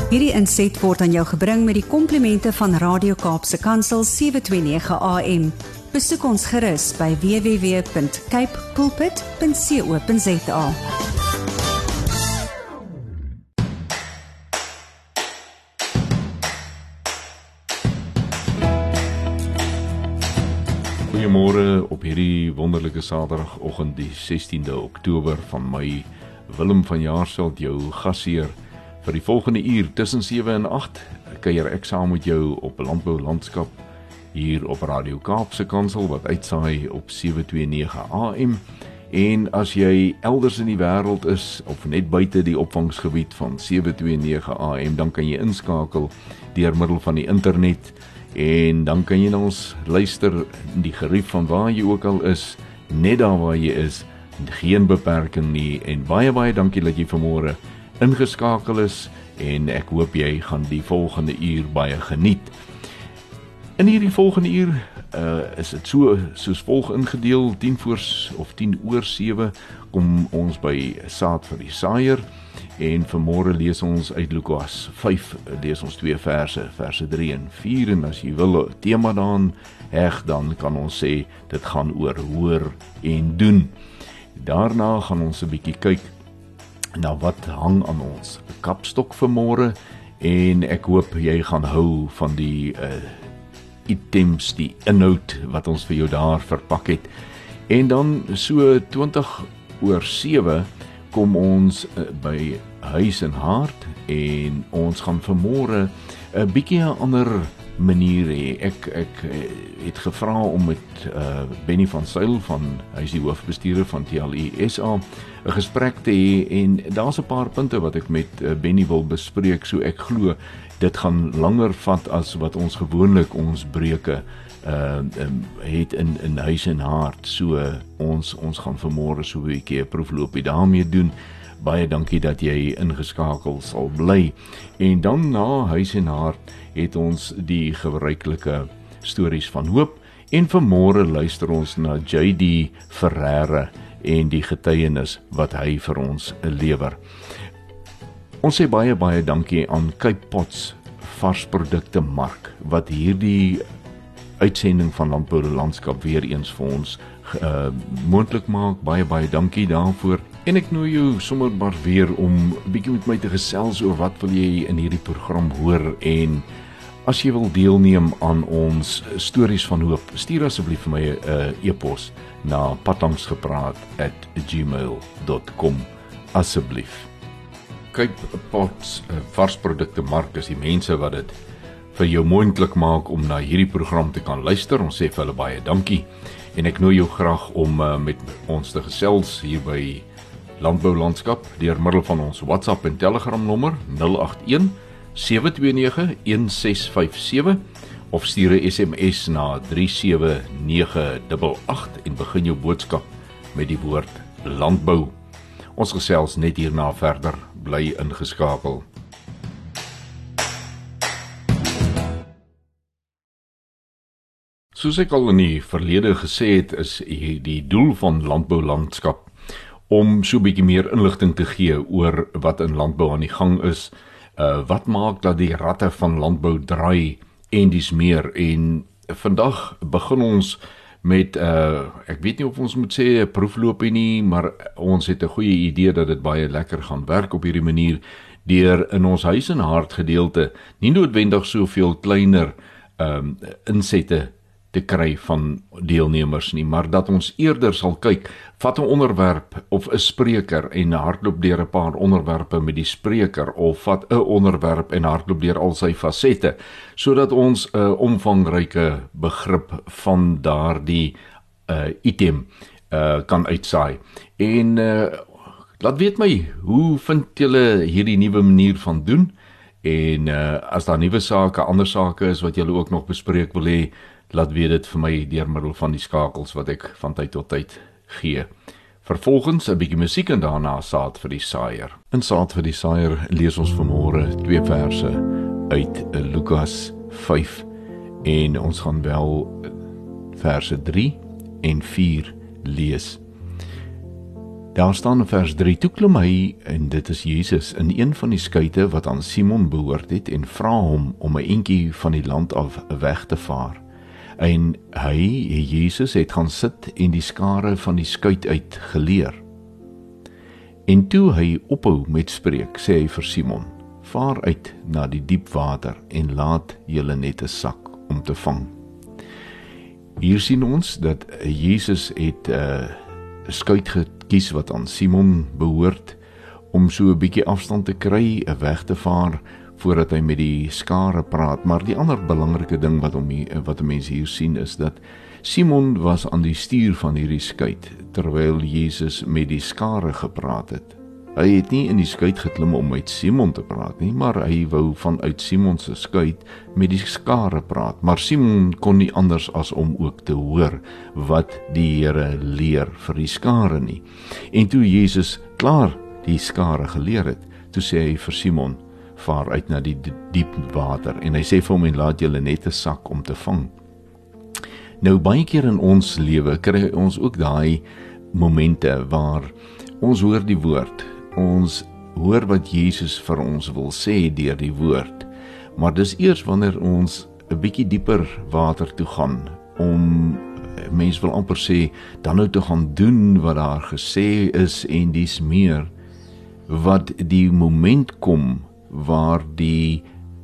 Hierdie inset word aan jou gebring met die komplimente van Radio Kaapse Kansel 729 AM. Besoek ons gerus by www.cape pulpit.co.za. Goeiemôre op hierdie wonderlike Saterdagoggend, die 16de Oktober, van my Willem van Jaarsveld, jou gasheer. Vir die volgende uur tussen 7 en 8 kuier ek saam met jou op Landbou Landskap hier op Radio Kaapse Kansel wat uitsaai op 729 AM. En as jy elders in die wêreld is of net buite die opvangsgebied van 729 AM, dan kan jy inskakel deur middel van die internet. En dan kan jy na ons luister in die gerief van waar jy ook al is, net daar waar jy is, geen beperking nie. En baie dankie dat jy vanmôre ingeskakel is, en ek hoop jy gaan die volgende uur baie geniet. In hierdie volgende uur is dit soos volg ingedeel. 10:10 kom ons by saad vir die saaier, en vanmôre lees ons uit Lukas 5, lees ons 2 verse 3 en 4, en as jy wil 'n tema daaraan heg, dan kan ons sê, dit gaan oor hoor en doen. Daarna gaan ons 'n bietjie kyk na wat hang aan ons kapstok vanmôre, en ek hoop jy gaan hou van die items, die inhoud wat ons vir jou daar verpak het. En dan so 20:07 kom ons by huis en hart, en ons gaan vanmôre 'n bietjie 'n ander manier hê. Ek het gevra om met Benny van Zyl, hy is die hoofbestuurder van TLI SA, 'n gesprek te hê, en daar's 'n paar punte wat ek met Benny wil bespreek, so ek glo dit gaan langer vat as wat ons gewoonlik ons breuke het in huis en hart. So ons gaan vanmôre so 'n bietjie 'n proefloopie daarmee doen. Baie dankie dat jy ingeskakel sal bly. En dan na huis en hart het ons die gebruikelike stories van hoop, en vanmôre luister ons na JD Ferreira en die getuienis wat hy vir ons lewer. Ons sê baie dankie aan Cape Pots varsprodukte mark wat hierdie uitsending van Landbou Landskap weer eens vir ons moontlik maak. Baie dankie daarvoor. En ek nooi jou sommer maar weer om 'n bietjie met my te gesels oor wat wil jy in hierdie program hoor, en as jy wil deelneem aan ons stories van hoop, stuur asseblief vir my 'n e-pos na padlangsgepraat@gmail.com asseblief. Cape Pots varsprodukte mark is die mense wat dit vir jou moontlik maak om na hierdie program te kan luister. Ons sê vir hulle baie dankie, en ek nooi jou graag om met ons te gesels hier by Landbou Landskap deur middel van ons WhatsApp en Telegram nommer 081 729 1657, of stuur 'n SMS na 37988 en begin jou boodskap met die woord landbou. Ons gesels net hierna verder, bly ingeskakel. Soos ek al in die verlede gesê het, is die doel van Landbou Landskap om so 'n bietjie meer inligting te gee oor wat in landbou aan die gang is, wat maak dat die ratte van landbou draai, en dis meer. En vandag begin ons met, ek weet nie of ons moet sê 'n proefloopie nie, maar ons het 'n goeie idee dat dit baie lekker gaan werk op hierdie manier, deur in ons huis en hart gedeelte nie noodwendig soveel kleiner insette te kry van deelnemers nie, maar dat ons eerder sal kyk, vat 'n onderwerp of 'n spreker en hardloop deur 'n paar onderwerpe met die spreker, of vat 'n onderwerp en hardloop deur al sy fasette, sodat ons 'n omvangryke begrip van daardie item kan uitsaai. En laat weet my, hoe vind julle hierdie nuwe manier van doen? En as daar nuwe sake, ander sake is wat julle ook nog bespreek wil hê, laat weet dit vir my deur middel van die skakels wat ek van tyd tot tyd gee. Vervolgens 'n bietjie musiek, en daarna saad vir die saaier. In saad vir die saaier lees ons vanmôre 2 verse uit Lukas 5, en ons gaan wel verse 3 en 4 lees. Daar staan in vers 3, toe klim hy, en dit is Jesus, in een van die skuite wat aan Simon behoort het, en vra hom om 'n entjie van die land af weg te vaar. En hy, Jesus, het gaan sit en die skare van die skuit uit geleer. En toe hy ophou met spreek, sê hy vir Simon, vaar uit na die diep water en laat julle net 'n sak om te vang. Hier sien ons dat Jesus het 'n skuit gekies wat aan Simon behoort, om so 'n bietjie afstand te kry, weg te vaar, voordat hy met die skare praat. Maar die ander belangrike ding wat 'n mens hier sien is dat Simon was aan die stuur van hierdie skuit, terwyl Jesus met die skare gepraat het. Hy het nie in die skuit geklim om met Simon te praat nie, maar hy wou vanuit Simon se skuit met die skare praat. Maar Simon kon nie anders as om ook te hoor wat die Here leer vir die skare nie. En toe Jesus klaar die skare geleer het, toe sê hy vir Simon, vaar uit na die diep water. En hy sê vir hom, en laat julle net 'n sak om te vang. Nou baie keer in ons lewe kry ons ook daai momente waar ons hoor die woord, ons hoor wat Jesus vir ons wil sê deur die woord, maar dis eers wanneer ons 'n bietjie dieper water toe gaan, om, mens wil amper sê, dan nou te gaan doen wat daar gesê is en dis meer, wat die moment kom waar die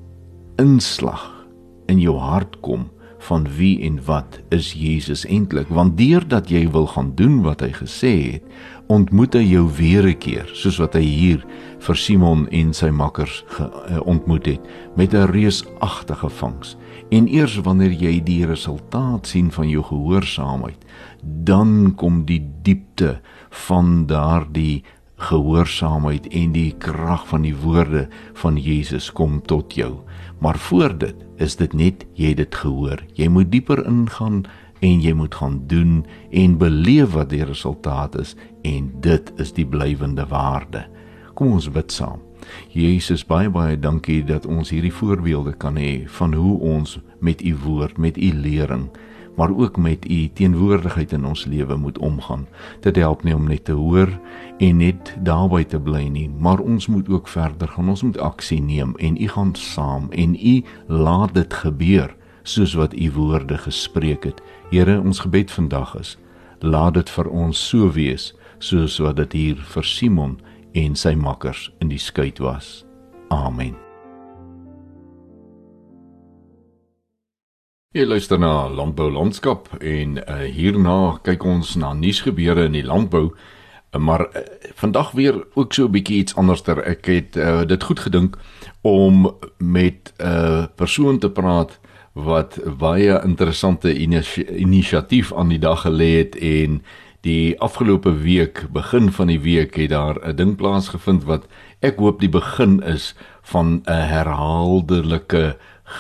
inslag in jou hart kom van wie en wat is Jesus eintlik, want deurdat jy wil gaan doen wat hy gesê het, ontmoet hy jou weer 'n keer, soos wat hy hier vir Simon en sy makkers ontmoet het, met 'n reusagtige vangs. En eers wanneer jy die resultaat sien van jou gehoorsaamheid, dan kom die diepte van daardie gehoorsaamheid en die krag van die woorde van Jesus kom tot jou. Maar voor dit is dit net, jy het dit gehoor. Jy moet dieper ingaan en jy moet gaan doen en beleef wat die resultaat is, en dit is die blywende waarde. Kom ons bid saam. Jesus, baie dankie dat ons hierdie voorbeelde kan hê van hoe ons met u woord, met u lering, maar ook met u teenwoordigheid in ons lewe moet omgaan. Dit help nie om net te hoor en net daarby te bly nie, maar ons moet ook verder gaan, ons moet aksie neem en u gaan saam en u laat dit gebeur, soos wat u woorde gespreek het. Here, ons gebed vandag is, laat dit vir ons so wees, soos wat dit hier vir Simon en sy makkers in die skuit was. Amen. Jy luister na Landbou Landskap en hierna kyk ons na nuusgebeure in die landbou, maar vandag weer ook so 'n bietjie iets anderster. Ek het dit goed gedink om met 'n persoon te praat wat baie interessante inisiatief aan die dag gelê het, en die afgelope week, begin van die week, het daar 'n ding plaasgevind wat ek hoop die begin is van 'n herhaaldelike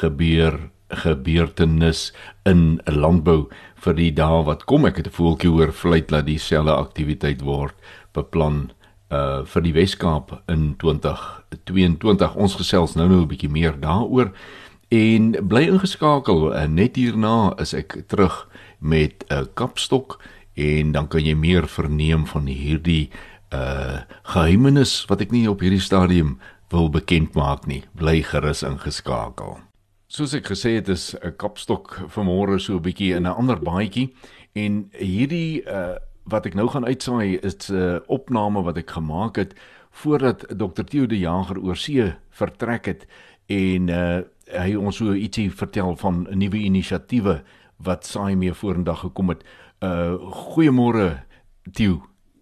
gebeurtenis in landbou vir die dae wat kom. Ek het 'n voeltjie hoor fluit dat dieselfde aktiwiteit word beplan vir die Weskaap in 2022. Ons gesels nou 'n bietjie meer daaroor en bly ingeskakel. Net hierna is ek terug met 'n kapstok en dan kan jy meer verneem van hierdie geheimenis wat ek nie op hierdie stadium wil bekend maak nie. Bly gerus ingeskakel. Soos ek gesê het, is 'n kapstok vanmôre so 'n bietjie in 'n ander baadjie, en hierdie wat ek nou gaan uitsaai is 'n opname wat ek gemaak het voordat Dr. Theo de Jager oor see vertrek het, en hy ons so ietsie vertel van nuwe inisiatiewe wat saai mee vorendag gekom het. Goeiemôre Theo.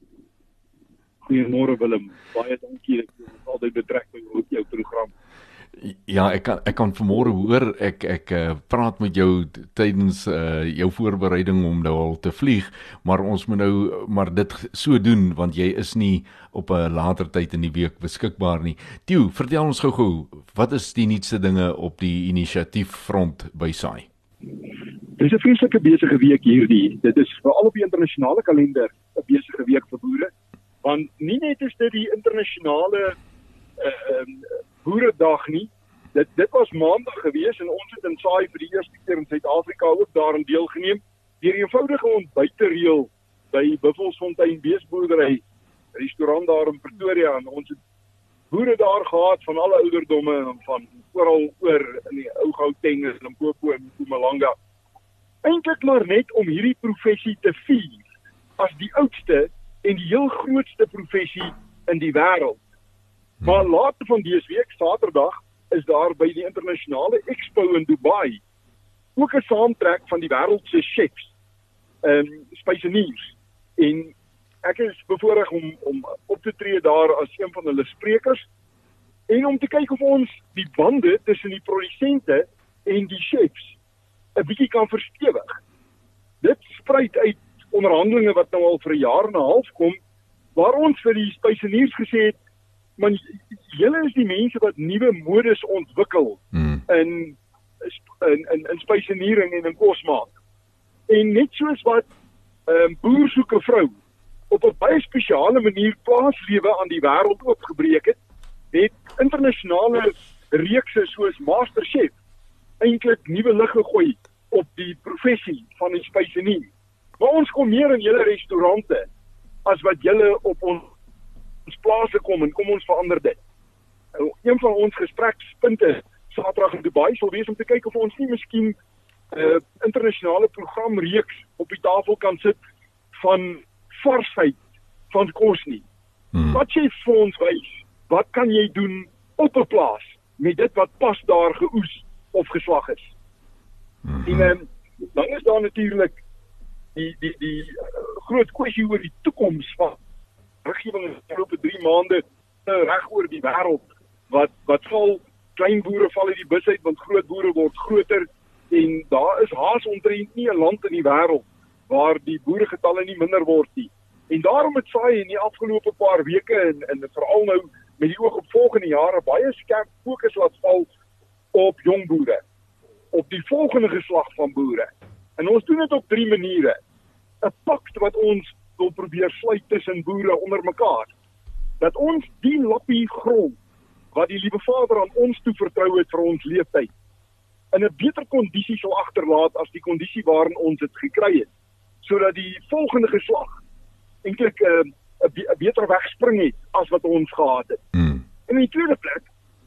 Goeiemôre Willem, baie dankie, ek is altyd betrek by jou program. Ja, ek kan vanmôre hoor, ek praat met jou tydens jou voorbereiding om nou al te vlieg, maar ons moet nou maar dit so doen, want jy is nie op 'n later tyd in die week beskikbaar nie. Theo, vertel ons gou-gou, wat is die nuutste dinge op die inisiatieffront by SAI? Dit is 'n vreeslike besige week hierdie. Dit is veral op die internasionale kalender 'n besige week vir boere, want nie net is dit die internasionale Boeredag nie. Dit was maandag gewees en ons het in SAI vir die eerste keer in Suid-Afrika ook daarin deelgeneem deur 'n eenvoudige ontbytreël by Buffelsfontein Beesboerdery restaurant daar in Pretoria en ons het boere daar gehad van alle ouderdomme en van oral oor in die ou Gauteng en Limpopo en Mpumalanga. Eintlik maar net om hierdie professie te vier as die oudste en die heel grootste professie in die wêreld. Maar later van dese week, Saterdag, is daar by die internasionale expo in Dubai ook 'n saamtrek van die wêreld se chefs, spyseniers. En ek is bevoorreg om op te tree daar as een van hulle sprekers en om te kyk of ons die bande tussen die produsente en die chefs 'n bietjie kan verstewig. Dit spruit uit onderhandelinge wat nou al vir 'n jaar en 'n half kom, waar ons vir die spyseniers gesê het, man, julle is die mense wat nuwe modes ontwikkel in spyseniering en in kosmaak. En net soos wat boer soek 'n vrou op 'n baie spesiale manier plaaslewe aan die wêreld oopgebreek het internasionale reekse soos MasterChef eintlik nuwe lig gegooi op die professie van die spysenier. Maar ons kom meer in julle restaurante as wat julle op ons plase kom en kom ons verander dit. Een van ons gesprekspunte Saterdag in Dubai sal wees om te kyk of ons nie miskien internasionale programreeks op die tafel kan sit van varsheid van kos nie. Wat jy vir ons wys, wat kan jy doen op 'n plaas met dit wat pas daar geoes of geslag is? En dan is daar natuurlik die groot kwessie oor die toekoms van wetgewing in die afgelope 3 maande reg oor die wêreld. Wat val klein boere val uit die bus uit want groot boere word groter en daar is haas omtrent nie 'n land in die wêreld waar die boeregetalle nie minder word nie. En daarom het saai in die afgelope paar weke en veral nou met die oog op volgende jare baie skerp fokus laat val op jong boere, op die volgende geslag van boere. En ons doen dit op 3 maniere. 'n Pakt wat ons wil probeer sluit tussen boere onder mekaar. Dat ons die lappie grond wat die liewe Vader aan ons toe vertrou het vir ons leeftyd in 'n beter kondisie sal agterlaat as die kondisie waarin ons dit gekry het, sodat die volgende geslag eintlik 'n beter weg spring het as wat ons gehad het. En in die tweede plek,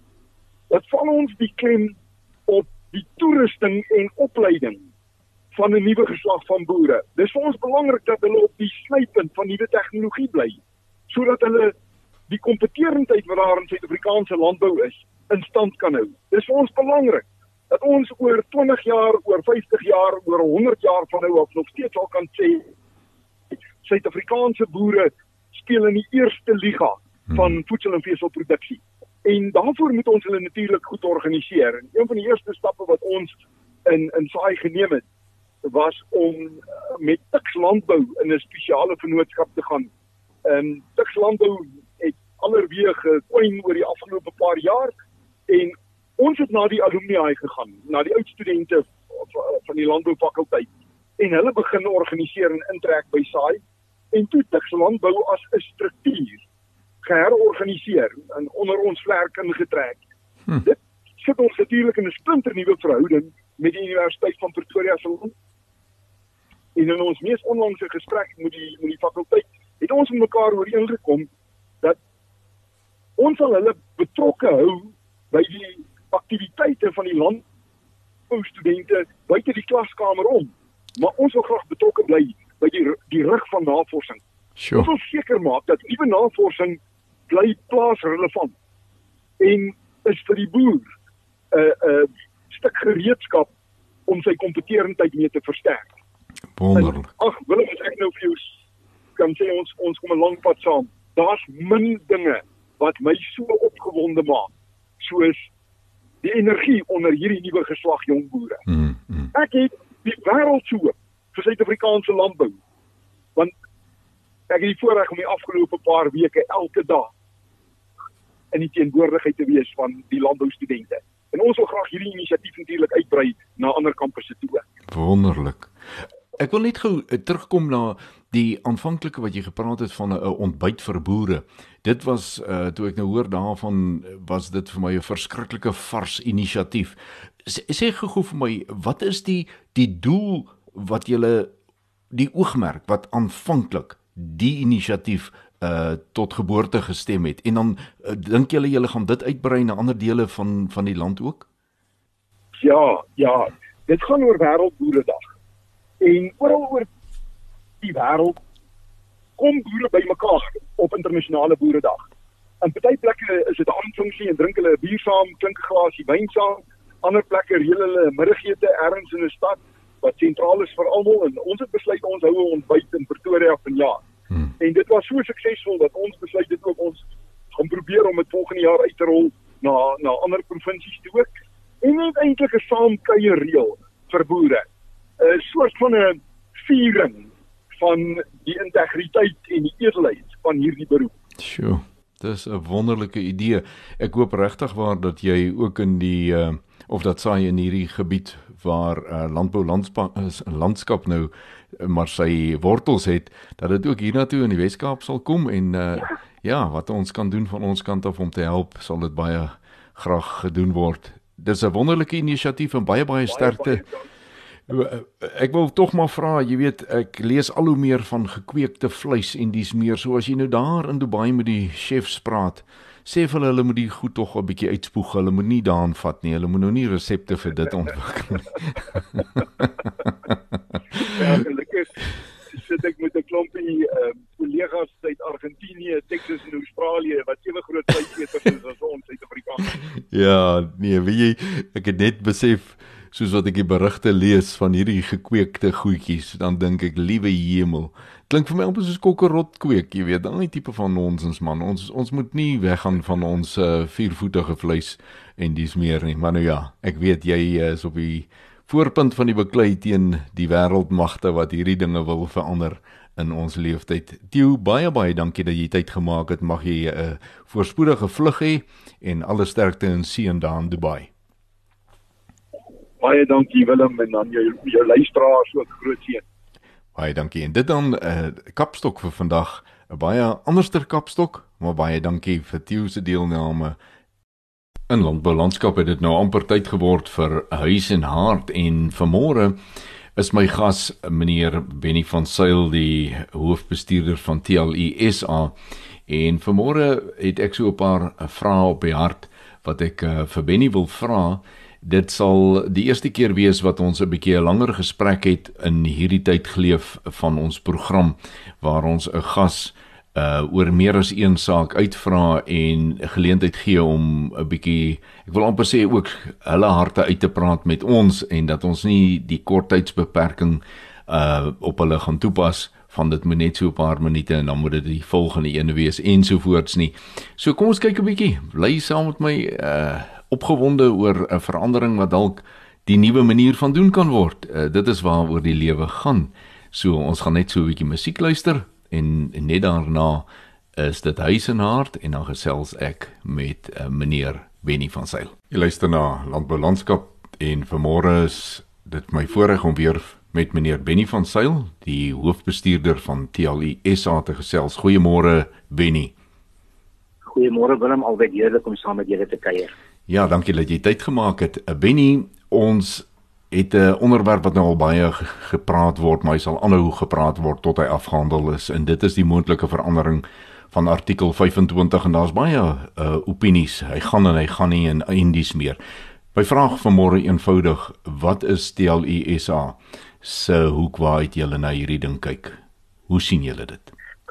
dat val ons die klem op die toerusting en opleiding van 'n nuwe geslag van boere. Dis vir ons belangrik dat hulle op die snypunt van nuwe tegnologie bly, sodat hulle die kompeterendheid wat daar in Suid-Afrikaanse landbou is, in stand kan hou. Dis vir ons belangrik dat ons oor 20 jaar, oor 50 jaar, oor 100 jaar van nou af nog steeds al kan sê Suid-Afrikaanse boere speel in die eerste liga van voedsel- en veselproduksie. En daarvoor moet ons hulle natuurlik goed organiseer. En een van die eerste stappe wat ons in saai geneem het, was om met Tuks Landbou in 'n spesiale vennootskap te gaan. Tuks Landbou het allerweer gekwyn oor die afgelope paar jaar en ons het na die alumni gegaan, na die oud studente van die landboufakulteit en hulle begin organiseer en intrek by saai en toe Tuks Landbou as 'n struktuur geherorganiseer en onder ons vlerk ingetrek. Dit sit ons natuurlik in 'n splinternuwe verhouding met die Universiteit van Pretoria se land. En in ons mees onlangse gesprek met die fakulteit het ons met mekaar ooreengekom dat ons sal hulle betrokke hou by die aktiwiteite van die landboustudente buite die klaskamer om. Maar ons wil graag betrokke bly by die rug van navorsing. Sure. Ons wil seker maak dat nuwe navorsing bly plaasrelevant en is vir die boer 'n stuk gereedskap om sy kompeterendheid mee te versterk. Wonderlik. Ag, Willem, as ek nou vir jou kan sê ons kom 'n lang pad saam. Daar's min dinge wat my so opgewonde maak soos die energie onder hierdie nuwe geslag jong boere. Ek het die wêreld so vir Suid-Afrikaanse landbou. Want ek het die voorreg om die afgelope paar weke elke dag in die teenwoordigheid te wees van die landboustudente. En ons wil graag hierdie inisiatief natuurlik uitbrei na ander kampusse toe. Wonderlik. Ek wil net gou terugkom na die aanvanklike wat jy gepraat het van 'n ontbyt vir boere. Dit was toe ek nou hoor daarvan, was dit vir my 'n verskriklike vars inisiatief. Sê gou vir my, wat is die doel wat julle, die oogmerk wat aanvanklik die inisiatief tot geboorte gestem het. En dan dink julle gaan dit uitbrei na ander dele van die land ook? Ja, dit gaan oor Wêreldboeredag. En oral oor die wêreld kom boere bymekaar op internasionale boeredag. In party plekke is dit 'n aanfunksie en drink hulle 'n bier saam, klink 'n glasie wyn saam. Ander plekke reël hulle 'n middagete ergens in 'n stad wat sentraal is vir almal, en ons het besluit ons hou 'n ontbyt in Pretoria vanjaar. En dit was so suksesvol dat ons besluit dit ook ons gaan probeer om dit volgende jaar uit te rol na ander provinsies toe ook. En net eintlik 'n saamkuier reël vir boere. 'n Soort van 'n viering van die integriteit en die edelheid van hierdie beroep. Sjoe, dis 'n wonderlike idee. Ek hoop regtig waar dat jy ook in die of dat saai in hierdie gebied waar landskap nou maar sy wortels het, dat dit ook hiernatoe in die Wes-Kaap sal kom en wat ons kan doen van ons kant af om te help, sal dit baie graag gedoen word. Dis 'n wonderlike inisiatief en baie sterkte. Ek wil tog maar vra, jy weet, ek lees al hoe meer van gekweekte vleis en dis meer, so as jy nou daar in Dubai met die chefs praat, sê vir hulle moet die goed tog 'n bietjie uitspoeg, hulle moet nie daaraan vat nie, hulle moet nou nie resepte vir dit ontwikkel nie. Ja, gelukkig sit ek met 'n klompie kollegas uit Argentinië, Texas en Australië wat ewe groot vleiseters is as ons Suid-Afrikaners. Ja, nee, weet jy, ek het net besef, soos wat ek die berigte lees van hierdie gekweekte goedjies, dan dink ek, liewe hemel, klink vir my amper soos kokkerrot kweek, jy weet, daai tipe van nonsens man, ons moet nie weggaan van ons viervoetige vleis en dis meer nie, maar nou ja, ek weet jy is op die voorpunt van die beklei teen die wêreldmagte wat hierdie dinge wil verander in ons leeftyd. Theo, baie dankie dat jy tyd gemaak het, mag jy 'n voorspoedige vlug hê en alle sterkte en seën daar in Dubai. Baie dankie Willem en dan jou luisteraars ook groot seën. Baie dankie. En dit dan kapstok vir vandag, 'n baie anderster kapstok, maar baie dankie vir Theo se deelname. In landboulandskap het dit nou amper tyd geword vir Huis en Hart en vanmôre is my gas meneer Benny van Zyl, die hoofbestuurder van TLE SA, en vanmôre het ek so 'n paar vrae op die hart wat ek vir Benny wil vra. Dit sal die eerste keer wees wat ons 'n bietjie 'n langer gesprek het in hierdie tyd geleef van ons program, waar ons 'n gas oor meer as een saak uitvra en geleentheid gee om 'n bietjie, ek wil amper sê ook hulle harte uit te praat met ons en dat ons nie die korttydsbeperking op hulle gaan toepas van dit moet net so 'n paar minute en dan moet dit die volgende ene wees ensovoorts nie. So kom ons kyk 'n bietjie, bly saam met my opgewonde oor 'n verandering wat dalk die nuwe manier van doen kan word. Dit is waaroor die lewe gaan. So ons gaan net so 'n bietjie musiek luister en net daarna is dit Huis en Hart en dan gesels ek met meneer Benny van Zyl. Jy luister na Landboulandskap en vanmôre is dit my voorreg om weer met meneer Benny van Zyl, die hoofbestuurder van TLE SA te gesels. Goeiemôre Benny. Goeiemôre Willem, albei heerlik om saam met julle te kuier. Ja, dankie dat jy tyd gemaak het. Benny, ons het 'n onderwerp wat nou al baie gepraat word, maar hy sal aanhou gepraat word tot hy afgehandel is, en dit is die moontlike verandering van artikel 25, en daar's baie opinies, hy gaan en hy gaan nie en dis meer. My vraag vanmôre eenvoudig, wat is TLE SA se hoek waaruit julle na hierdie ding kyk? Hoe sien julle dit?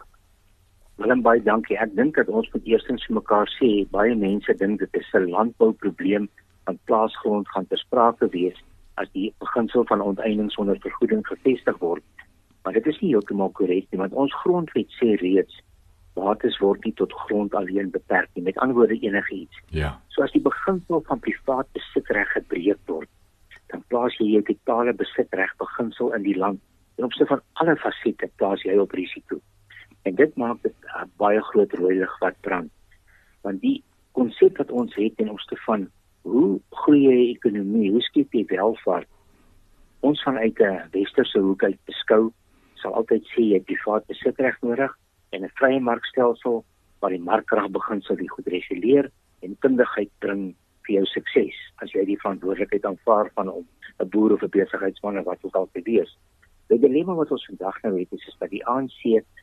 Willem, baie dankie. Ek dink dat ons moet eerstens vir mekaar sê, baie mense dink dit is 'n landbouprobleem, want plaasgrond gaan ter sprake wees as die beginsel van onteiening sonder vergoeding gevestig word. Maar dit is nie heeltemal korrek nie, want ons grondwet sê reeds, bates word nie tot grond alleen beperk nie, met ander woorde enige iets. Ja. So as die beginsel van privaat besitreg gebreek word, dan plaas jy jou totale besitreg beginsel in die land. En op sy van alle fasette plaas jy op risiko. En dit maak dit 'n baie groot rooi lig wat brand. Want die konsep wat ons het ten opsigte van hoe groei jy ekonomie, hoe skep jy welvaart, ons vanuit 'n westerse hoek uit beskou, sal altyd sê jy het privaat besitreg nodig en 'n vrye markstelsel waar die markkragbeginsel die goed reguleer en kundigheid bring vir jou sukses, as jy die verantwoordelikheid aanvaar van om 'n boer of 'n besigheidsman of wat ook al te wees. Die dilemma wat ons vandag nou het is dat die ANC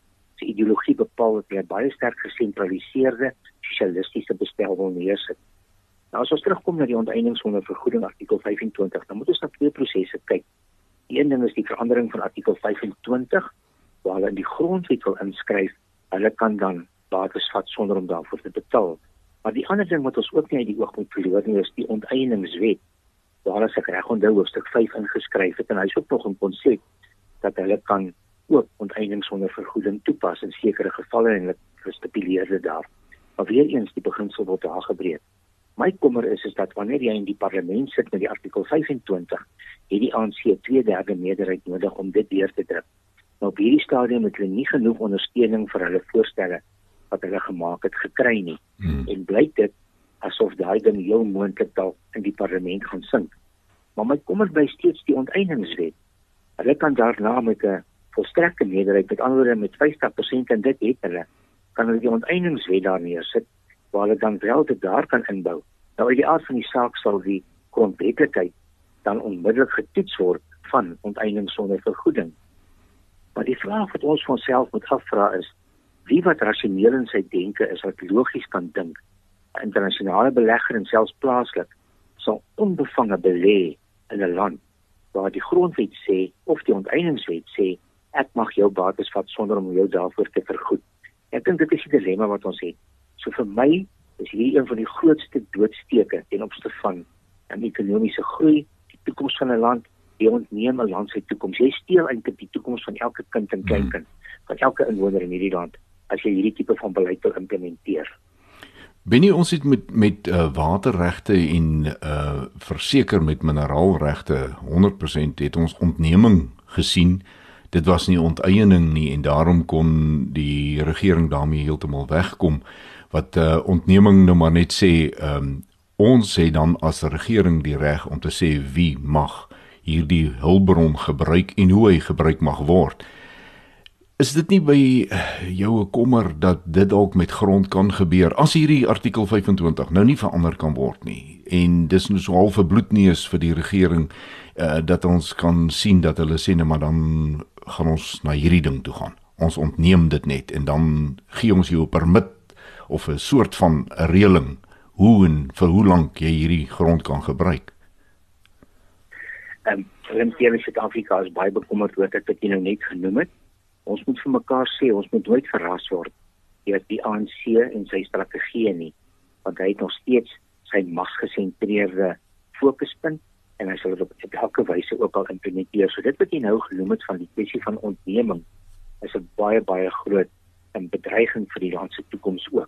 se ideologie bepaal dat hulle baie sterk gesentraliseerde sosialistiese bestel wil neersit. Nou as ons terugkom na die onteiening sonder vergoeding artikel 25, dan moet ons na twee prosesse kyk. Die een ding is die verandering van artikel 25, waar hulle in die grondwet wil inskryf, hulle kan dan bates vat sonder om daarvoor te betaal. Maar die ander ding wat ons ook nie uit die oog moet verloor nie, is die onteieningswet, waar as ek reg onthou hoofstuk 5 ingeskryf het, en hy is ook nog 'n konsep dat hulle kan ook onteiening sonder vergoeding toepas in sekere gevalle en hulle gestipuleer dit daar. Maar weer eens die beginsel word daar gebreek. My kommer is dat wanneer jy in die parlement sit met die artikel 25, het die ANC 2/3 meerderheid nodig om dit deur te druk. Nou op hierdie stadium het hulle nie genoeg ondersteuning vir hulle voorstelle wat hulle gemaak het gekry nie. En blyk dit asof daai ding heel moontlik dalk in die parlement gaan sink. Maar my kommer bly steeds die onteieningswet. Hulle kan daarna met 'n volstrekte meerderheid, met ander woorde met 50% en dit het hulle, kan hulle die onteieningswet daar neersit, waar hulle dan wel dit daar kan inbou. Nou uit die aard van die saak sal die grondwetlikheid dan onmiddellik getoets word van onteiening sonder vergoeding. Maar die vraag wat ons vir onsself moet afvra is, wie wat rasioneel in sy denke is, wat logies kan dink, 'n internasionale belegger en selfs plaaslik, sal onbevange belê in 'n land waar die grondwet sê, of die onteieningswet sê, ek mag jou bates vat sonder om jou daarvoor te vergoed. Ek dink dit is die dilemma wat ons het. So vir my is hier een van die grootste doodsteke ten opsigte van 'n ekonomiese groei, die toekoms van 'n land, jy ontneem 'n land sy toekoms. Jy steel eintlik die toekoms van elke kind en kleinkind, van elke inwoner in hierdie land, as jy hierdie tipe van beleid wil implementeer. Benny, ons het met waterregte en verseker met mineraalregte 100% het ons ontneming gesien. Dit was nie onteiening nie en daarom kon die regering daarmee heeltemal wegkom. Wat ontneming nou maar net sê, ons het dan as regering die reg om te sê wie mag hierdie hulpbron gebruik en hoe hy gebruik mag word. Is dit nie by jou 'n kommer dat dit dalk met grond kan gebeur, as hierdie artikel 25 nou nie verander kan word nie, en dis nou so half 'n bloedneus vir die regering, dat ons kan sien dat hulle sê, maar dan gaan ons na hierdie ding toe gaan. Ons ontneem dit net, en dan gee ons jou 'n permit, of 'n soort van 'n reëling, hoe en vir hoe lank jy hierdie grond kan gebruik. In Suid-Afrika is baie bekommerd oor dit wat jy nou net genoem het. Ons moet vir mekaar sê, ons moet nooit verras word deur die ANC en sy strategie nie, want hy het nog steeds sy magsgesentreerde fokuspunt en hy sal dit op elke wyse ook al implementeer. So dit wat jy nou genoem het van die kwessie van ontneming is 'n baie groot bedreiging vir die land se toekoms ook.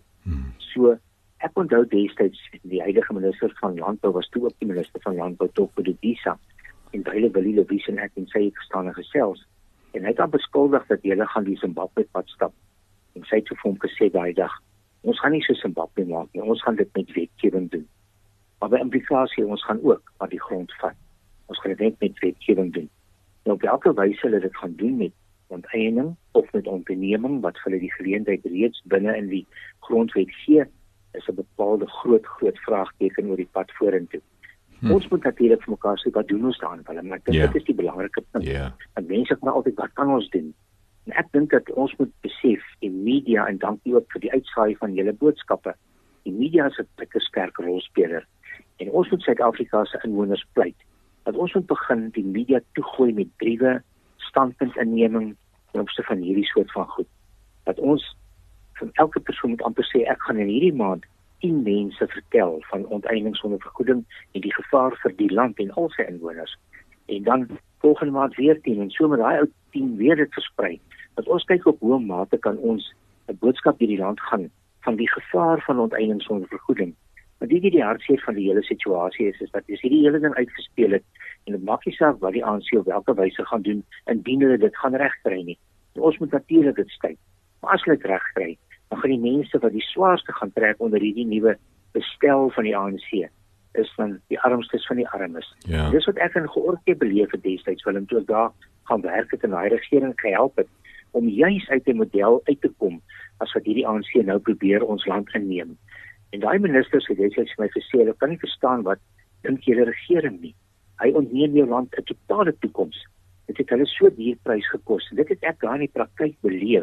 So ek onthou destyds die huidige minister van landbou was toe ook die minister van landbou Topo Disa en Baile Willie Lewies en ek en sy het gestaan en gesels. En hy het dan beskuldig dat hulle gaan die Zimbabwe pad stap. En sy het vir hom gesê daai dag, ons gaan nie so Zimbabwe maak nie, ons gaan dit met wetgewing doen. Maar by implikasie, ons gaan ook aan die grond vat. Ons gaan dit net met wetgewing doen. En op welke wyse hulle dit gaan doen met onteiening of met onderneming, wat vir hulle die geleentheid reeds binne in die grondwet gee, is 'n bepaalde groot vraagteken oor die pad vorentoe. Ons moet natuurlik vir mekaar sê, wat doen ons daarin? Maar ek dink dit is die belangrike punt. En mense sê maar altyd, wat kan ons doen? En ek dink dat ons moet besef, die media, en dankie ook vir die uitsaai van julle boodskappe, die media is 'n baie sterk rolspeler. En ons moet Suid-Afrika se inwoners pleit, dat ons moet begin die media toegooi met briewe, standpuntinneming, ten opsigte van hierdie soort van goed. Dat ons van elke persoon moet amper sê, ek gaan in hierdie maand 10 mense vertel van onteiening sonder vergoeding en die gevaar vir die land en al sy inwoners. En dan volgende maand weer 10 en so met daai ou 10 weer dit versprei. Dat ons kyk op hoe mate kan ons 'n boodskap hierdie land gaan van die gevaar van onteiening sonder vergoeding. Maar die hartseer van die hele situasie is dat as hierdie hele ding uitgespeel het en dit maak nie saak wat die ANC op welke wyse gaan doen indien hulle dit gaan regkry nie. En ons moet natuurlik dit stay. Maar as hulle dit regkry, dan gaan die mense wat die swaarste gaan trek onder hierdie nuwe bestel van die ANC, is dan die armstes van die armes. Ja. Dis wat ek in Georgië beleef het destyds, Willem, toe ek daar gaan werk het en daai regering gehelp het, om juis uit 'n model uit te kom, as wat hierdie ANC nou probeer ons land inneem. En daai ministers het destyds vir my gesê, hulle kan nie verstaan wat dink julle regering nie. Hy ontneem jou land 'n totale toekoms. Dit het hulle so duur prys gekos. Dit het ek daar in die praktyk beleef.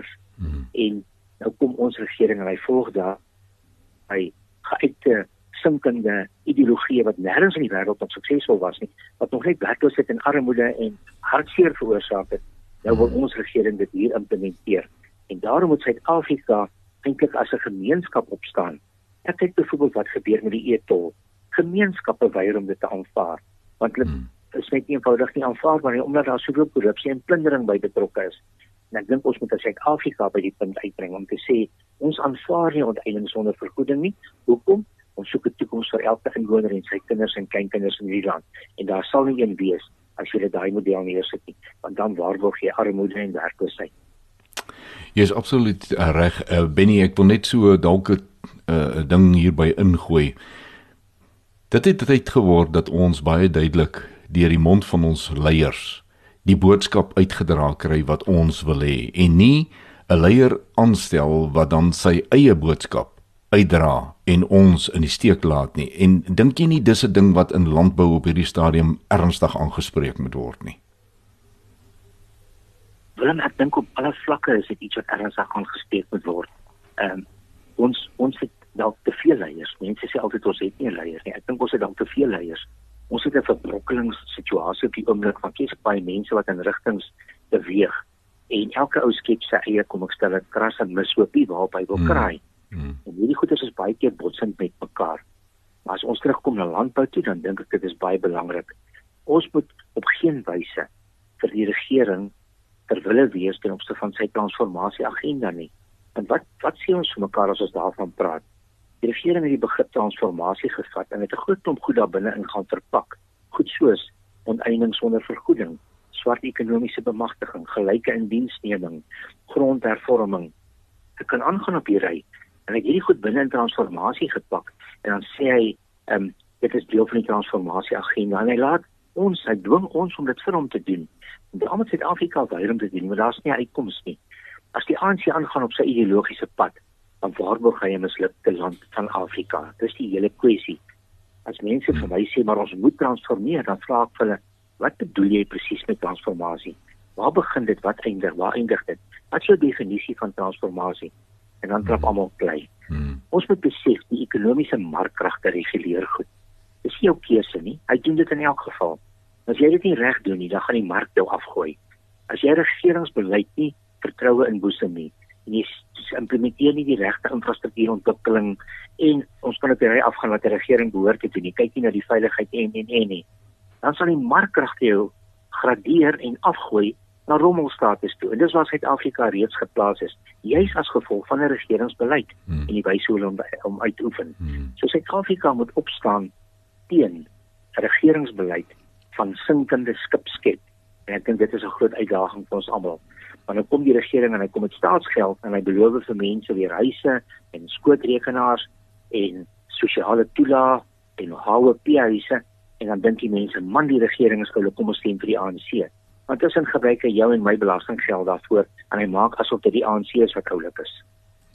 En nou kom ons regering en hy volg daar hy geuite sinkende ideologie wat nêrens in die wêreld wat suksesvol was nie, wat nog net werkloosheid en armoede en hartseer veroorsaak het. Nou wil ons regering dit hier implementeer. En daarom moet Suid-Afrika eintlik as 'n gemeenskap opstaan. Ek kyk byvoorbeeld wat gebeur met die e-tol. Gemeenskappe weier om dit te aanvaar, want hulle is net eenvoudig nie aanvaarbaar nie, omdat daar soveel korrupsie en plundering by betrokke is. En ek dink ons moet as Suid-Afrika by die punt uitbring om te sê, ons aanvaar nie onteiening sonder vergoeding nie. Hoekom? Ons soek 'n toekoms vir elke inwoner en sy kinders en kleinkinders in hierdie land. En daar sal nie een wees as jy daai model neersit nie, want dan waarborg jy armoede en werkloosheid. Jy is absoluut reg, Benny, ek wil net so dalk 'n ding hierby ingooi. Dit het tyd geword dat ons baie duidelik deur die mond van ons leiers die boodskap uitgedra kry wat ons wil hê en nie 'n leier aanstel wat dan sy eie boodskap uitdra en ons in die steek laat nie. En dink jy nie dis 'n ding wat in landbou op hierdie stadium ernstig aangespreek moet word nie? Willem, ek dink op alle vlakke is dit iets wat ernstig aangespreek moet word. Ons het dalk te veel leiers. Mense sê altyd ons het nie leiers nie. Ek dink ons het dalk te veel leiers. Ons het 'n verbrokkelingsituasie op die oomblik van baie mense wat in rigtings beweeg. En elke ou skep sy eie, kom ek stel dit, kras en mishoopie waarop hy wil kraai. En hierdie goeders is baie keer botsend met mekaar. Maar as ons terugkom na landbou toe, dan dink ek dit is baie belangrik. Ons moet op geen wyse vir die regering terwille wees ten opsigte van sy transformasieagenda nie. En wat sê ons vir mekaar as ons daarvan praat? Die regering het die begrip transformasie gevat en het 'n groot klomp goed daar binne in gaan verpak. Goed soos onteiening sonder vergoeding, swart ekonomiese bemagtiging, gelyke indiensneming, grondhervorming. Ek kan aangaan op die ry. En hy het hierdie goed binne in transformasie gepak en dan sê hy, dit is deel van die transformasieagenda en hy dwing ons om dit vir hom te doen. En daarom het Suid-Afrika weier om te doen, maar daar's nie 'n uitkoms nie. As die ANC aangaan op sy ideologiese pad, dan waarborg hy 'n mislukte land van Afrika. Dis die hele kwessie. As mense vir my sê, maar ons moet transformeer, dan vra ek vir hulle, wat bedoel jy presies met transformasie? Waar begin dit, waar eindig dit? Wat is jou definisie van transformasie? En dan trap almal klei. Ons moet besef, die ekonomiese markkragte reguleer goed. Dis nie jou keuse nie, hy doen dit in elk geval. As jy dit nie reg doen nie, dan gaan die mark jou afgooi. As jy regeringsbeleid nie vertroue inboesem nie, en jy implementeer nie die regte infrastruktuurontwikkeling, en ons kan op die ry afgaan wat die regering behoort te doen, jy kyk nie na die veiligheid en nie, dan sal die markkragte jou gradeer en afgooi na rommelstatus toe. En dis waar Suid-Afrika reeds geplaas is, juis as gevolg van 'n regeringsbeleid en die wyse hoe hulle om uit te oefen. So Suid-Afrika moet opstaan teen 'n regeringsbeleid van sinkende skipskep. En ek dink dit is 'n groot uitdaging vir ons almal. Want nou kom die regering en hy kom met staatsgeld en hy beloof vir mense weer huise en skootrekenaars en sosiale toelaag en HOP-huise en dan dink die mense, man, die regering is gou, kom ons stem vir die ANC. Want tussen gebruik hy jou en my belastinggeld daarvoor en hy maak asof dit die ANC is wat oulik is.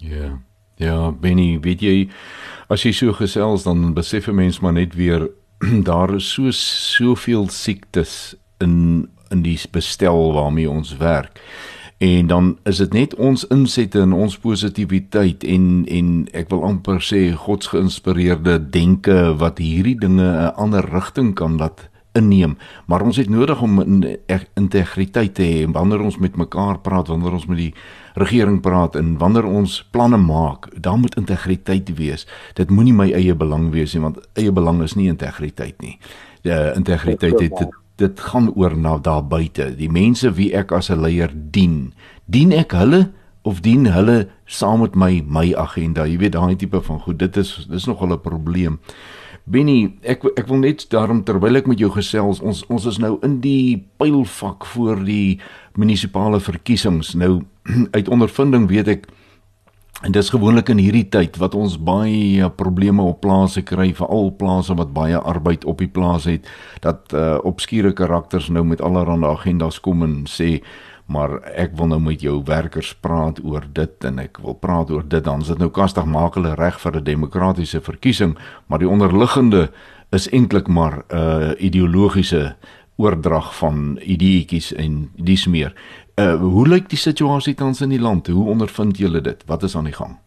Ja, Benny, weet jy, as jy so gesels, dan besef 'n mens maar net weer, daar is soveel siektes in die bestel waarmee ons werk. En dan is dit net ons insette en ons positiwiteit en ek wil amper sê godsgeïnspireerde denke wat hierdie dinge 'n ander rigting kan laat inneem. Maar ons het nodig om integriteit te hê, wanneer ons met mekaar praat, wanneer ons met die regering praat en wanneer ons planne maak, daar moet integriteit wees. Dit moenie my eie belang wees nie, want eie belang is nie integriteit nie. Integriteit dit gaan oor na daar buite. Die mense wie ek as 'n leier dien ek hulle of dien hulle saam met my agenda? Jy weet, daai tipe van goed, dis nogal 'n probleem. Benny, ek wil net daarom, terwyl ek met jou gesels, ons is nou in die pylvak voor die munisipale verkiesings. Nou, uit ondervinding weet ek, en dis gewoonlik in hierdie tyd wat ons baie probleme op plase kry, veral plase wat baie arbeid op die plaas het, dat obskure karakters nou met allerhande agendas kom en sê, maar ek wil nou met jou werkers praat oor dit en ek wil praat oor dit, dan is dit nou kastig maak hulle reg vir 'n demokratiese verkiesing, maar die onderliggende is eintlik maar ideologiese oordrag van ideetjies en dies meer. Hoe lyk die situasie tans in die land? Hoe ondervind julle dit? Wat is aan die gang?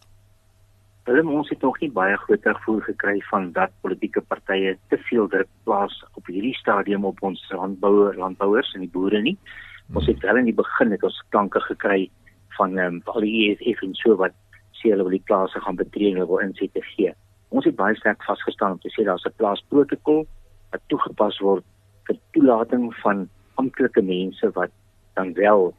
Ons het nog nie baie groot terugvoer gekry van dat politieke partye te veel druk plaas op hierdie stadium op ons landbouers en die boere nie. Ons het wel in die begin het ons klanke gekry van al die EFF en so wat sê hulle wil die plase gaan betree en hulle wil insette gee. Ons het baie sterk vasgestaan om te sê daar's 'n plaasprotokol wat toegepas word vir toelating van amptelike mense wat dan wel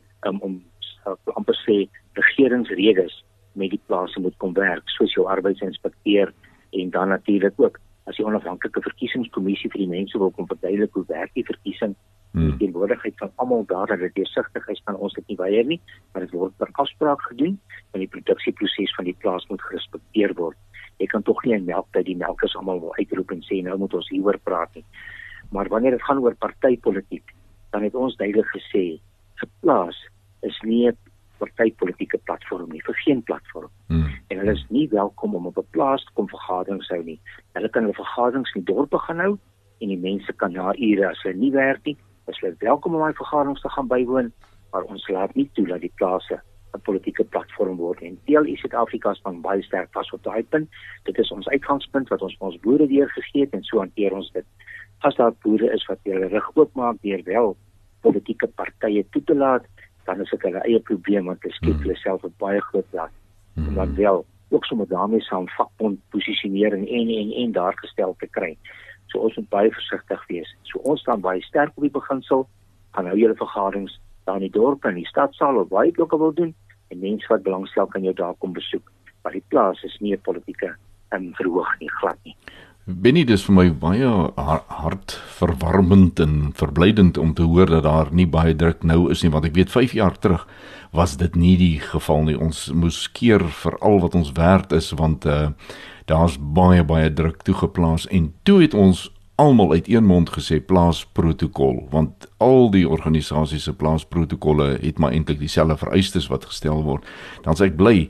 amper sê regeringsredes met die plase moet kom werk, soos jou arbeidsinspekteur en dan natuurlik ook as die onafhanklike verkiesingskommissie vir die mense wil kom verduidelik hoe werk die verkiesing, die teenwoordigheid van almal daar, dat dit deursigtig is, kan ons dit nie weier nie, maar dit word per afspraak gedoen en die produksieproses van die plaas moet gerespekteer word. Jy kan tog nie in melktyd die melkers almal wil uitroep en sê nou moet ons hieroor praat nie. Maar wanneer dit gaan oor partytetiek, dan het ons duidelik gesê 'n plaas is nie 'n partytetiese platform nie, vir geen platform. En hulle is nie welkom om op 'n plaas te kom vergaderings hou nie. Hulle kan hulle vergaderings in die dorpe gaan hou en die mense kan na ure as hulle nie werk nie, is hulle welkom om daai vergaderings te gaan bywoon, maar ons laat nie toe dat die plase 'n politieke platform word. En DLI Suid-Afrika staan baie sterk vas op daai punt. Dit is ons uitgangspunt wat ons vir ons boere deurgegee het en so hanteer ons dit. As daar boere is wat hulle rug oopmaak deur wel politieke partye toe te laat, dan is dit hulle eie probleem want hulle skep hulle self 'n baie groot las. En dan wel ook sommer daarmee saam vakbond posisionering en daar gestel te kry. So ons moet baie versigtig wees. So ons staan baie sterk op die beginsel, gaan hou julle vergaderings daar in die dorp en die stadsaal of waar jy ook al wil doen en mense wat belangstel kan jou daar kom besoek. Maar die plaas is nie 'n politieke verhoog nie, glad nie. Benny, dis vir my baie hartverwarmend en verblydend om te hoor dat daar nie baie druk nou is nie, want ek weet 5 jaar terug was dit nie die geval nie. Ons moes keer vir al wat ons werd is, want daar's baie druk toegeplaas en toe het ons almal uit een mond gesê plaasprotokol, want al die organisasies se plaasprotokolle het maar eintlik dieselfde vereistes wat gestel word. Dan sê ek bly,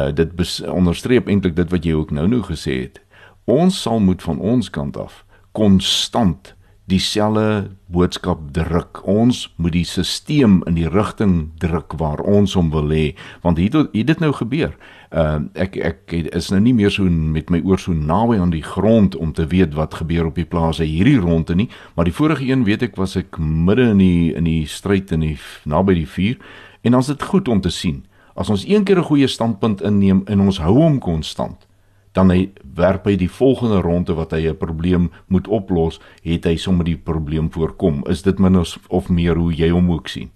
dit onderstreep eintlik dit wat jy ook nou gesê het. Ons sal moet van ons kant af konstant dieselfde boodskap druk. Ons moet die stelsel in die rigting druk waar ons hom wil hê, want hier dit nou gebeur. Ek is nou nie meer so met my oor so naby aan die grond om te weet wat gebeur op die plase hierdie ronde nie, maar die vorige een weet ek was ek midde in die stryd naby die vuur, en dan is dit goed om te sien. As ons een keer 'n goeie standpunt inneem en ons hou hom konstant, dan werp hy die volgende ronde wat hy 'n probleem moet oplos, het hy sommer die probleem voorkom. Is dit min of meer hoe jy hom ook sien?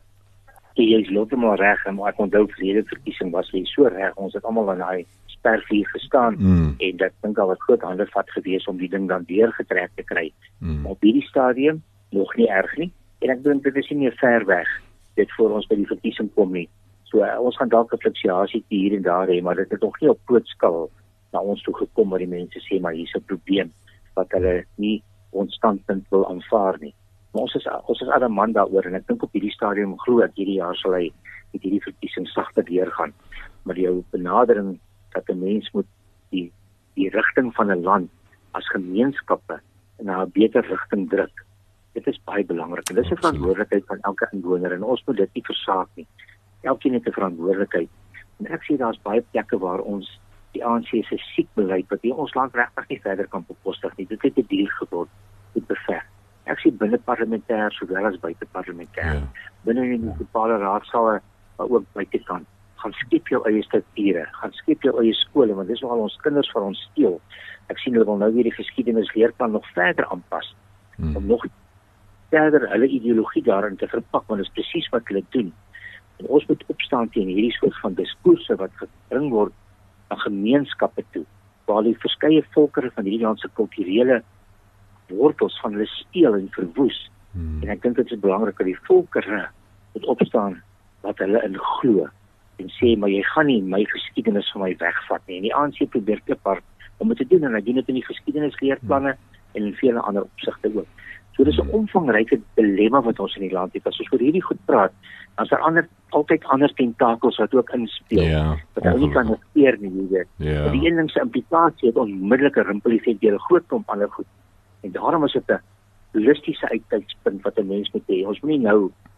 Jy is heeltemal reg, maar ek onthou verlede verkiesing was jy so reg, ons het almal aan daai spervuur gestaan en dit dink al wat groot hande vat gewees om die ding dan deurgetrek te kry. Maar op hierdie stadium nog nie erg nie, en ek dink dit is nie meer ver weg dit voor ons by die verkiesing kom nie. So ons gaan dalk 'n fluktuasie hier en daar hê, maar dit het nog nie op groot skaal na ons toe gekom waar die mense sê maar hier's 'n probleem wat hulle nie ons standpunt wil aanvaar nie. Maar ons is adamant daaroor en ek dink op hierdie stadium glo ek hierdie jaar sal hy met hierdie verkiesing sagter deurgaan. Maar jou benadering dat 'n mens moet die rigting van 'n land as gemeenskappe na 'n beter rigting druk. Dit is baie belangrik en dis 'n verantwoordelikheid van elke inwoner en ons moet dit nie versaak nie. Elkeen het 'n verantwoordelikheid. En ek sien daar's baie plekke waar ons die ANC se siek beleid wat ons land regtig nie verder kan bekostig nie. Dit het 'n deal geword met beveg. Ek sien binne parlementêr sowel as buite parlementêr. Binne die munisipale raadsale, maar ook buitekant. Gaan skep jou eie strukture, gaan skep jou eie skole, want dis nogal ons kinders van ons steel. Ek sien hulle wil nou weer die geskiedenisleerplan nog verder aanpas om nog verder hulle ideologie daarin te verpak, want dit is presies wat hulle doen. En ons moet opstaan teen hierdie soort van diskourse wat gebring word na gemeenskappe toe, waar die verskeie volkere van hierdie land se kulturele wortels van hulle steel en verwoes. En ek dink dit is belangrik dat die volkere moet opstaan wat hulle in glo en sê, maar jy gaan nie my geskiedenis van my wegvat nie. En die ANC probeer kliphard om dit te doen en hy doen dit in die geskiedenisleerplanne en in vele ander opsigte ook. So dis 'n omvangryke dilemma wat ons in die land het. As ons oor hierdie goed praat, dan is daar altyd ander tentakels wat ook inspeel. Wat ou nie kan negeer nie, jy weet. Die een ding se implikasie het onmiddellike rimpel-effek deur 'n groot klomp ander goed. En daarom is dit 'n holistiese uitkykspunt wat 'n mens moet hê. Ons moet nie nou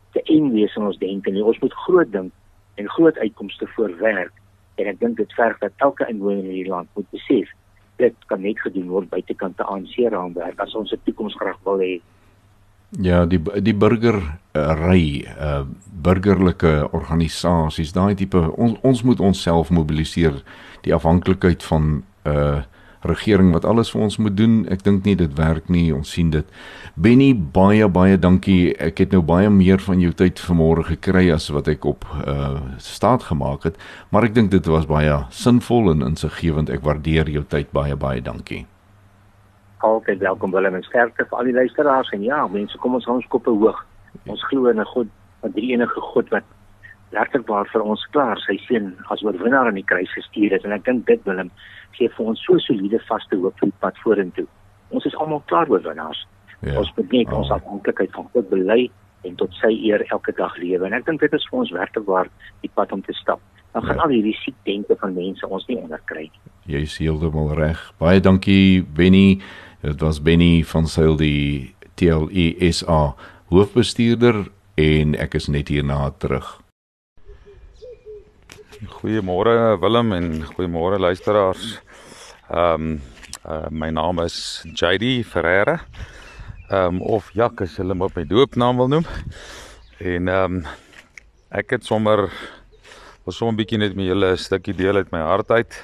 te eng wees in ons denke nie. Ons moet groot dink en groot uitkomste voorwerk. En ek dink dit verg dat elke inwoner in hierdie land moet besef, dit kan net gedoen word buitekant die ANC-raamwerk as ons 'n toekoms graag wil hê. Ja, die burgery, burgerlike organisasies, daai tipe, ons moet onsself mobiliseer, die afhanklikheid van regering wat alles vir ons moet doen. Ek dink nie dit werk nie, ons sien dit. Benny, baie dankie. Ek het nou baie meer van jou tyd vanmôre gekry as wat ek op staat gemaak het, maar ek dink dit was baie sinvol en insiggewend. Ek waardeer jou tyd, baie dankie. Altyd welkom Willem en sterkte vir al die luisteraars. En ja, mense, kom ons hou ons koppe hoog. Ons glo in 'n God, 'n drie-enige God wat werklikwaar vir ons klaar sy seun as oorwinnaar aan die kruis gestuur het. En ek dink dit, Willem, gee vir ons so soliede vaste hoop vir die pad vorentoe. Ons is almal klaar oorwinnaars. Ja, ons moet net ons afhanklikheid van God bely en tot sy eer elke dag lewe. En ek dink dit is vir ons werklikwaar die pad om te stap. Dan gaan al hierdie siek denke van mense ons nie onderkry nie. Jy is heeltemal reg. Baie dankie, Benny. Dit was Benny van Sail, die TLE-SA hoofbestuurder, en ek is net hierna terug. Goeiemôre Willem en goeiemôre luisteraars. My naam is JD Ferreira, of Jak as julle hom op my doopnaam wil noem. En ek het sommer 'n bietjie net met julle 'n stukkie deel uit my hart uit.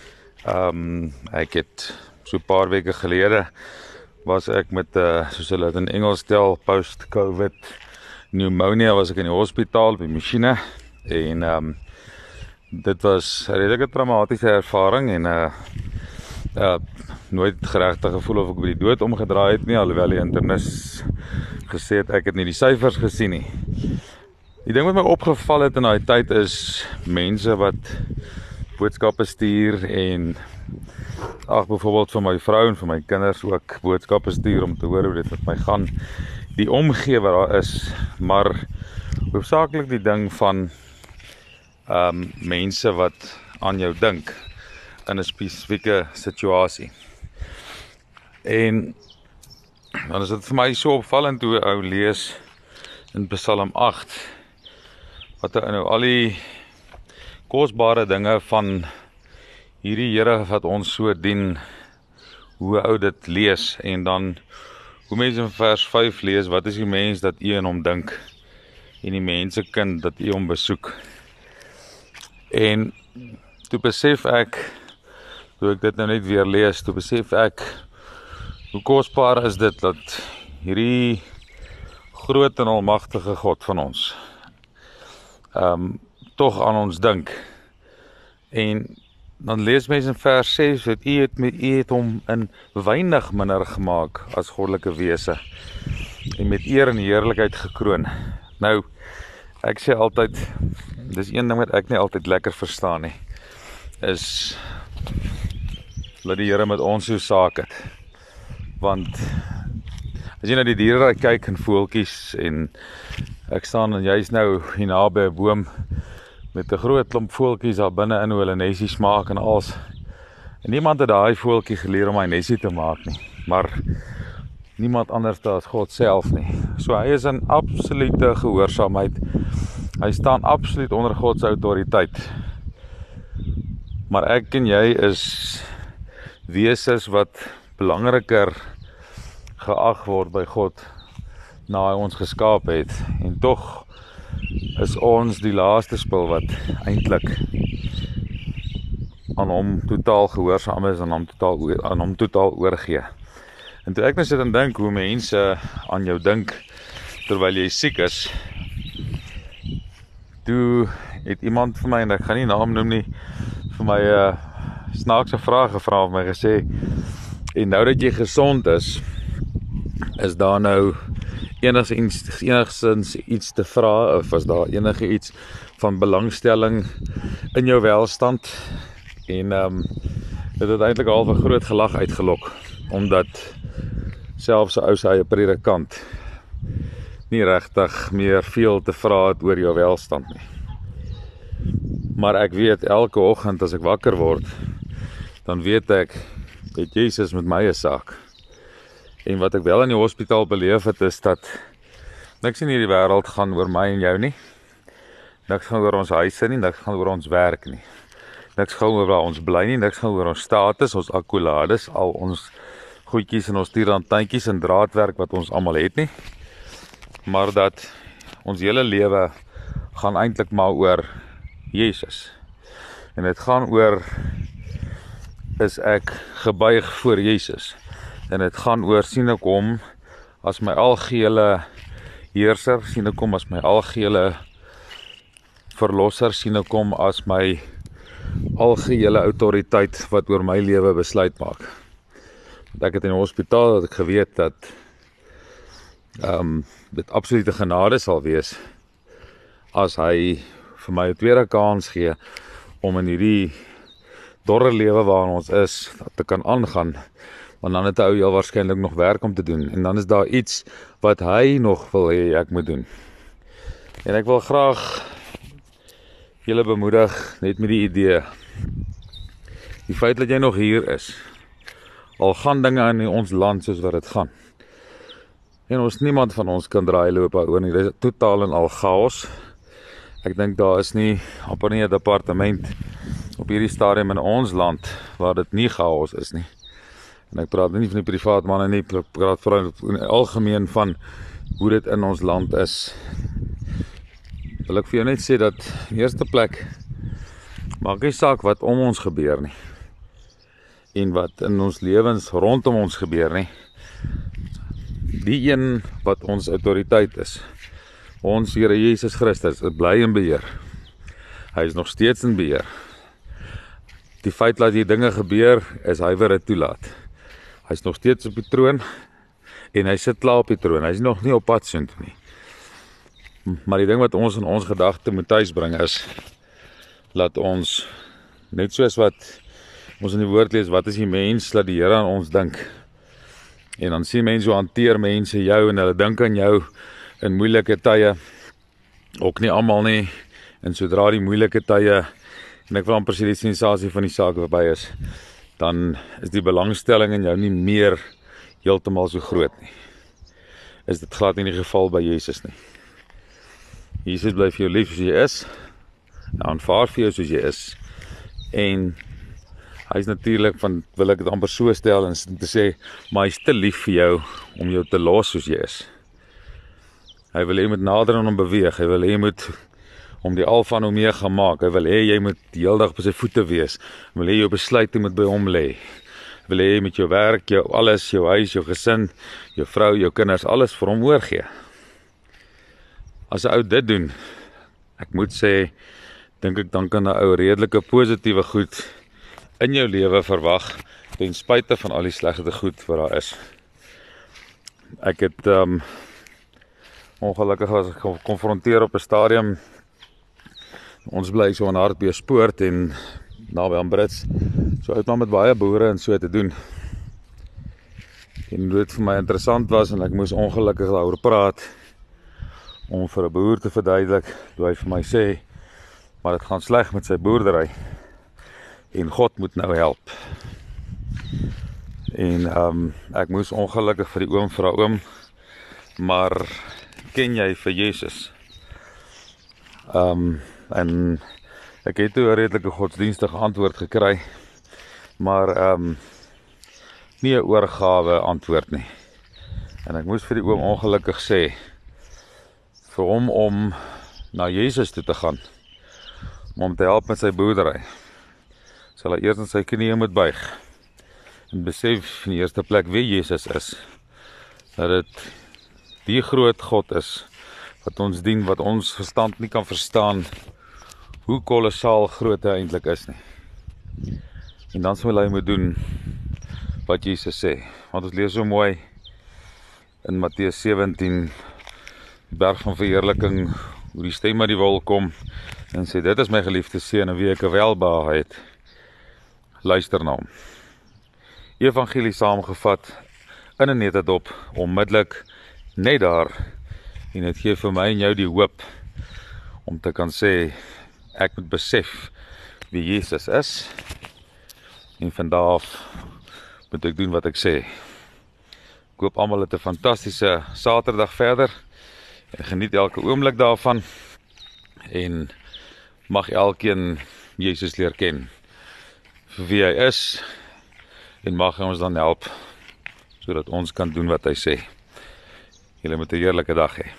Ek het so 'n paar weke gelede was ek met soos hulle dit in Engels stel, post-COVID pneumonia, was ek in die hospitaal op die masjiene en dit was 'n redelike traumatiese ervaring en nooit geregtig gevoel of ek by die dood omgedraai het nie, alhoewel die internis gesê het ek het nie die syfers gesien nie. Die ding wat my opgeval het in daai tyd is mense wat boodskappe stuur en byvoorbeeld vir my vrou en vir my kinders ook boodskappe stuur om te hoor hoe dit met my gaan. Die omgee wat daar is, maar hoofsaaklik die ding van mense wat aan jou dink in 'n spesifieke situasie. En dan is dit vir my so opvallend hoe ou lees in Psalm 8 wat nou al die kosbare dinge van hierdie Here wat ons so dien, hoe ou dit lees, en dan hoe mense in vers 5 lees, wat is die mens dat u aan hom dink, en die mense kind dat u hom besoek. En toe besef ek, toe ek dit nou net weer lees, toe besef ek, hoe kosbaar is dit dat hierdie groot en almagtige God van ons tog aan ons dink. En dan lees mense in vers 6 dat u het hom in weinig minder gemaak as goddelike wese en met eer en heerlikheid gekroon. Nou, ek sê altyd, dis een ding wat ek nie altyd lekker verstaan nie, is dat die Here met ons so saak het. Want as jy na die diere kyk en voeltjies, en ek staan en jy's nou hier naby 'n boom met 'n groot klomp voeltjies daar binne in hoe hulle nesies maak en alles. En niemand het daai voeltjie geleer om hy nesie te maak nie, maar niemand anders as God self nie. So hy is in absolute gehoorsaamheid. Hy staan absoluut onder God se autoriteit. Maar ek en jy is wesens wat belangriker geag word by God na hy ons geskaap het. En tog is ons die laaste spul wat eintlik aan hom totaal gehoorsaam is en aan hom totaal oorgee. En toe ek nou sit en dink hoe mense aan jou dink terwyl jy siek is, toe het iemand vir my, en ek gaan nie naam noem nie, vir my 'n snaakse vraag gevra of my gesê, en nou dat jy gesond is daar nou enigstens iets te vra, of was daar enige iets van belangstelling in jou welstand? En dit het eintlik al 'n groot gelag uitgelok, omdat selfs 'n ou se eie predikant nie regtig meer veel te vra het oor jou welstand nie. Maar ek weet, elke oggend as ek wakker word, dan weet ek, dat Jesus met my 'n saak. En wat ek wel in die hospitaal beleef het, is dat Niks in hierdie wêreld gaan oor my en jou nie. Niks gaan oor ons huise nie, niks gaan oor ons werk nie. Niks gaan oor waar ons bly nie, niks gaan oor ons status, ons akkolades, al ons goedjies en ons tierantantjies en draadwerk wat ons almal het nie. Maar dat ons hele lewe gaan eintlik maar oor Jesus. En dit gaan oor, is ek gebuig voor Jesus. En dit gaan oor, sien ek hom as my algehele heerser, sien ek hom as my algehele verlosser, sien ek hom as my algehele autoriteit wat oor my lewe besluit maak. Want ek het in die hospitaal dat ek geweet dat dit absolute genade sal wees as hy vir my 'n tweede kans gee om in hierdie dorre lewe waarin ons is te kan aangaan, want dan het hy heel waarskynlik nog werk om te doen en dan is daar iets wat hy nog wil hê ek moet doen. En ek wil graag julle bemoedig net met die idee, die feit dat jy nog hier is, al gaan dinge in ons land soos wat dit gaan. En niemand van ons kan draai loop oor nie, dit is totaal en al chaos. Ek dink daar is nie, amper nie 'n departement op hierdie stadium in ons land, waar dit nie chaos is nie. En ek praat nie van die privaat manne nie, ek praat vooral in die algemeen van hoe dit in ons land is. Wil ek vir jou net sê dat in die eerste plek, maak nie saak wat om ons gebeur nie, en wat in ons lewens rondom ons gebeur nie. Die een wat ons autoriteit is, ons Here Jesus Christus, is bly in beheer. Hy is nog steeds in beheer. Die feit dat die dinge gebeur, is hy wat dit toelaat. Hy is nog steeds op die troon, en hy sit klaar op die troon, hy is nog nie op pad soontoe nie. Maar die ding wat ons in ons gedagte moet thuisbring is, laat ons, net soos wat ons in die woord lees, wat is die mens, laat die Here aan ons dink. En dan sien mense hoe hanteer mense jou, en hulle dink aan jou in moeilike tye, ook nie almal nie, en sodra die moeilike tye, en ek wil amper sê die sensasie van die saak verby is, dan is die belangstelling in jou nie meer heeltemal so groot nie. Is dit glad nie die geval by Jesus nie. Jesus bly vir jou lief soos jy is, hy aanvaar vir jou soos jy is, en hy is natuurlik van, wil ek dit amper so stel, en te sê, maar hy is te lief vir jou, om jou te los soos jy is. Hy wil jy moet nader aan hom beweeg, hy wil jy moet om die alfa en omega maak, hy wil jy moet die hele dag by sy voete wees, hy wil jou besluite moet by hom lê, hy wil jy met jou werk, jou alles, jou huis, jou gesin, jou vrou, jou kinders, alles vir hom oorgee. As 'n ou dit doen, ek moet sê, dink ek dan kan 'n ou redelike positiewe goed in jou lewe verwag, ten spyte van al die slegte goed wat daar is. Ek het ongelukkig was ek gekonfronteer op 'n stadium. Ons bly so aan Hartbeespoort en naby aan Brits. So uit maar met baie boere en so te doen. En dit vir my interessant was en ek moes ongelukkig daaroor praat om vir 'n boer te verduidelik, toe hy vir my sê, maar dit gaan sleg met sy boerdery en God moet nou help. En ek moes ongelukkig vir die oom vra, oom, maar ken jy vir Jesus? En ek het toe 'n redelike godsdienstige antwoord gekry, maar nie 'n oorgawe antwoord nie. En ek moes vir die oom ongelukkig sê, vir hom om na Jesus toe te gaan, om hom te help met sy boerdery, sal hy eers in sy knieë moet buig, en besef in die eerste plek wie Jesus is, dat dit die groot God is, wat ons dien, wat ons verstand nie kan verstaan, hoe kolossaal groot hy eintlik is nie. En dan sal hy moet doen, wat Jesus sê, want ons lees so mooi, in Matteus 17, die berg van verheerliking, hoe die stem uit die wol kom, en sê, dit is my geliefde seun, en wie ek 'n welbehae het, luister na hom. Evangelie saamgevat, in 'n netedop, onmiddellik, net daar, en het gee vir my en jou die hoop, om te kan sê, ek moet besef, wie Jesus is, en vandaag moet ek doen wat ek sê. Ek hoop almal het 'n fantastiese Saterdag verder, En geniet elke oomblik daarvan en mag elkeen Jesus leer ken vir wie hy is en mag hy ons dan help sodat ons kan doen wat hy sê. Julle moet 'n heerlike dag hê.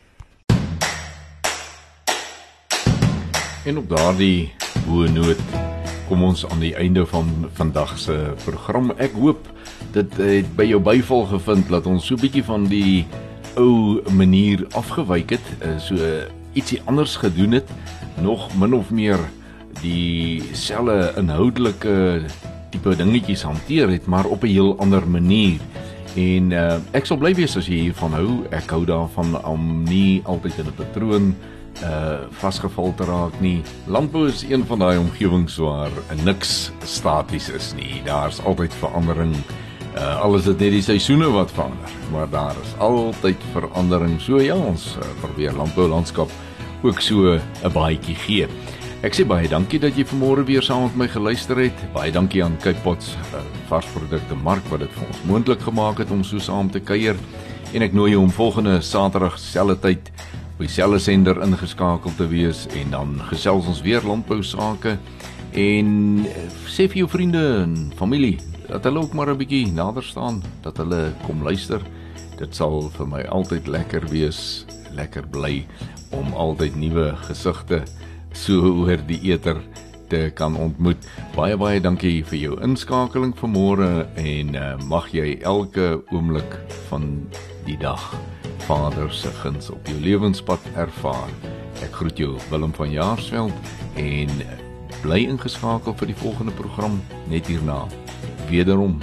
En op daardie hoë noot kom ons aan die einde van vandag se program. Ek hoop dit het by jou byval gevind dat ons so 'n bietjie van die ou manier afgewyk het, so ietsie anders gedoen het, nog min of meer dieselfde inhoudelike tipe dingetjies hanteer het, maar op 'n heel ander manier. En ek sal bly wees as jy hiervan hou. Ek hou daarvan om nie altyd in 'n patroon vasgeval te raak nie. Landbou is een van daai omgewings waar niks staties is nie. Daar's altyd verandering. Alles is net die seisoene wat verander, maar daar is altyd verandering. So ja, ons probeer landboulandskap ook so 'n baadjie gee. Ek sê baie dankie dat jy vanmôre weer saam met my geluister het. Baie dankie aan Cape Pots varsprodukte mark wat dit vir ons moontlik gemaak het om so saam te kuier. En ek nooi jou om volgende Saterdag selfde tyd op dieselfde sender ingeskakel te wees en dan gesels ons weer landbou sake en sê vir jou vriende en familie dat hulle ook maar 'n bietjie nader staan, dat hulle kom luister. Dit sal vir my altyd lekker wees, lekker bly om altyd nuwe gesigte so oor die eter te kan ontmoet. Baie dankie vir jou inskakeling vanmôre en mag jy elke oomblik van die dag Vader se guns op jou lewenspad ervaar. Ek groet jou, Willem van Jaarsveld, en bly ingeskakel vir die volgende program net hierna. Wederom.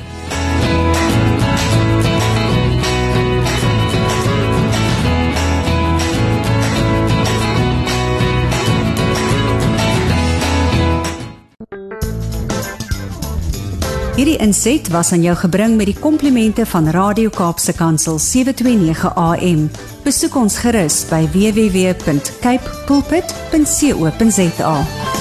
Hierdie inset was aan jou gebring met die komplimente van Radio Kaapse Kansel 729 AM. Besoek ons gerus by www.cape pulpit.co.za.